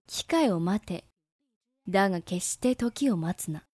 機会を待て。だが決して時を待つな。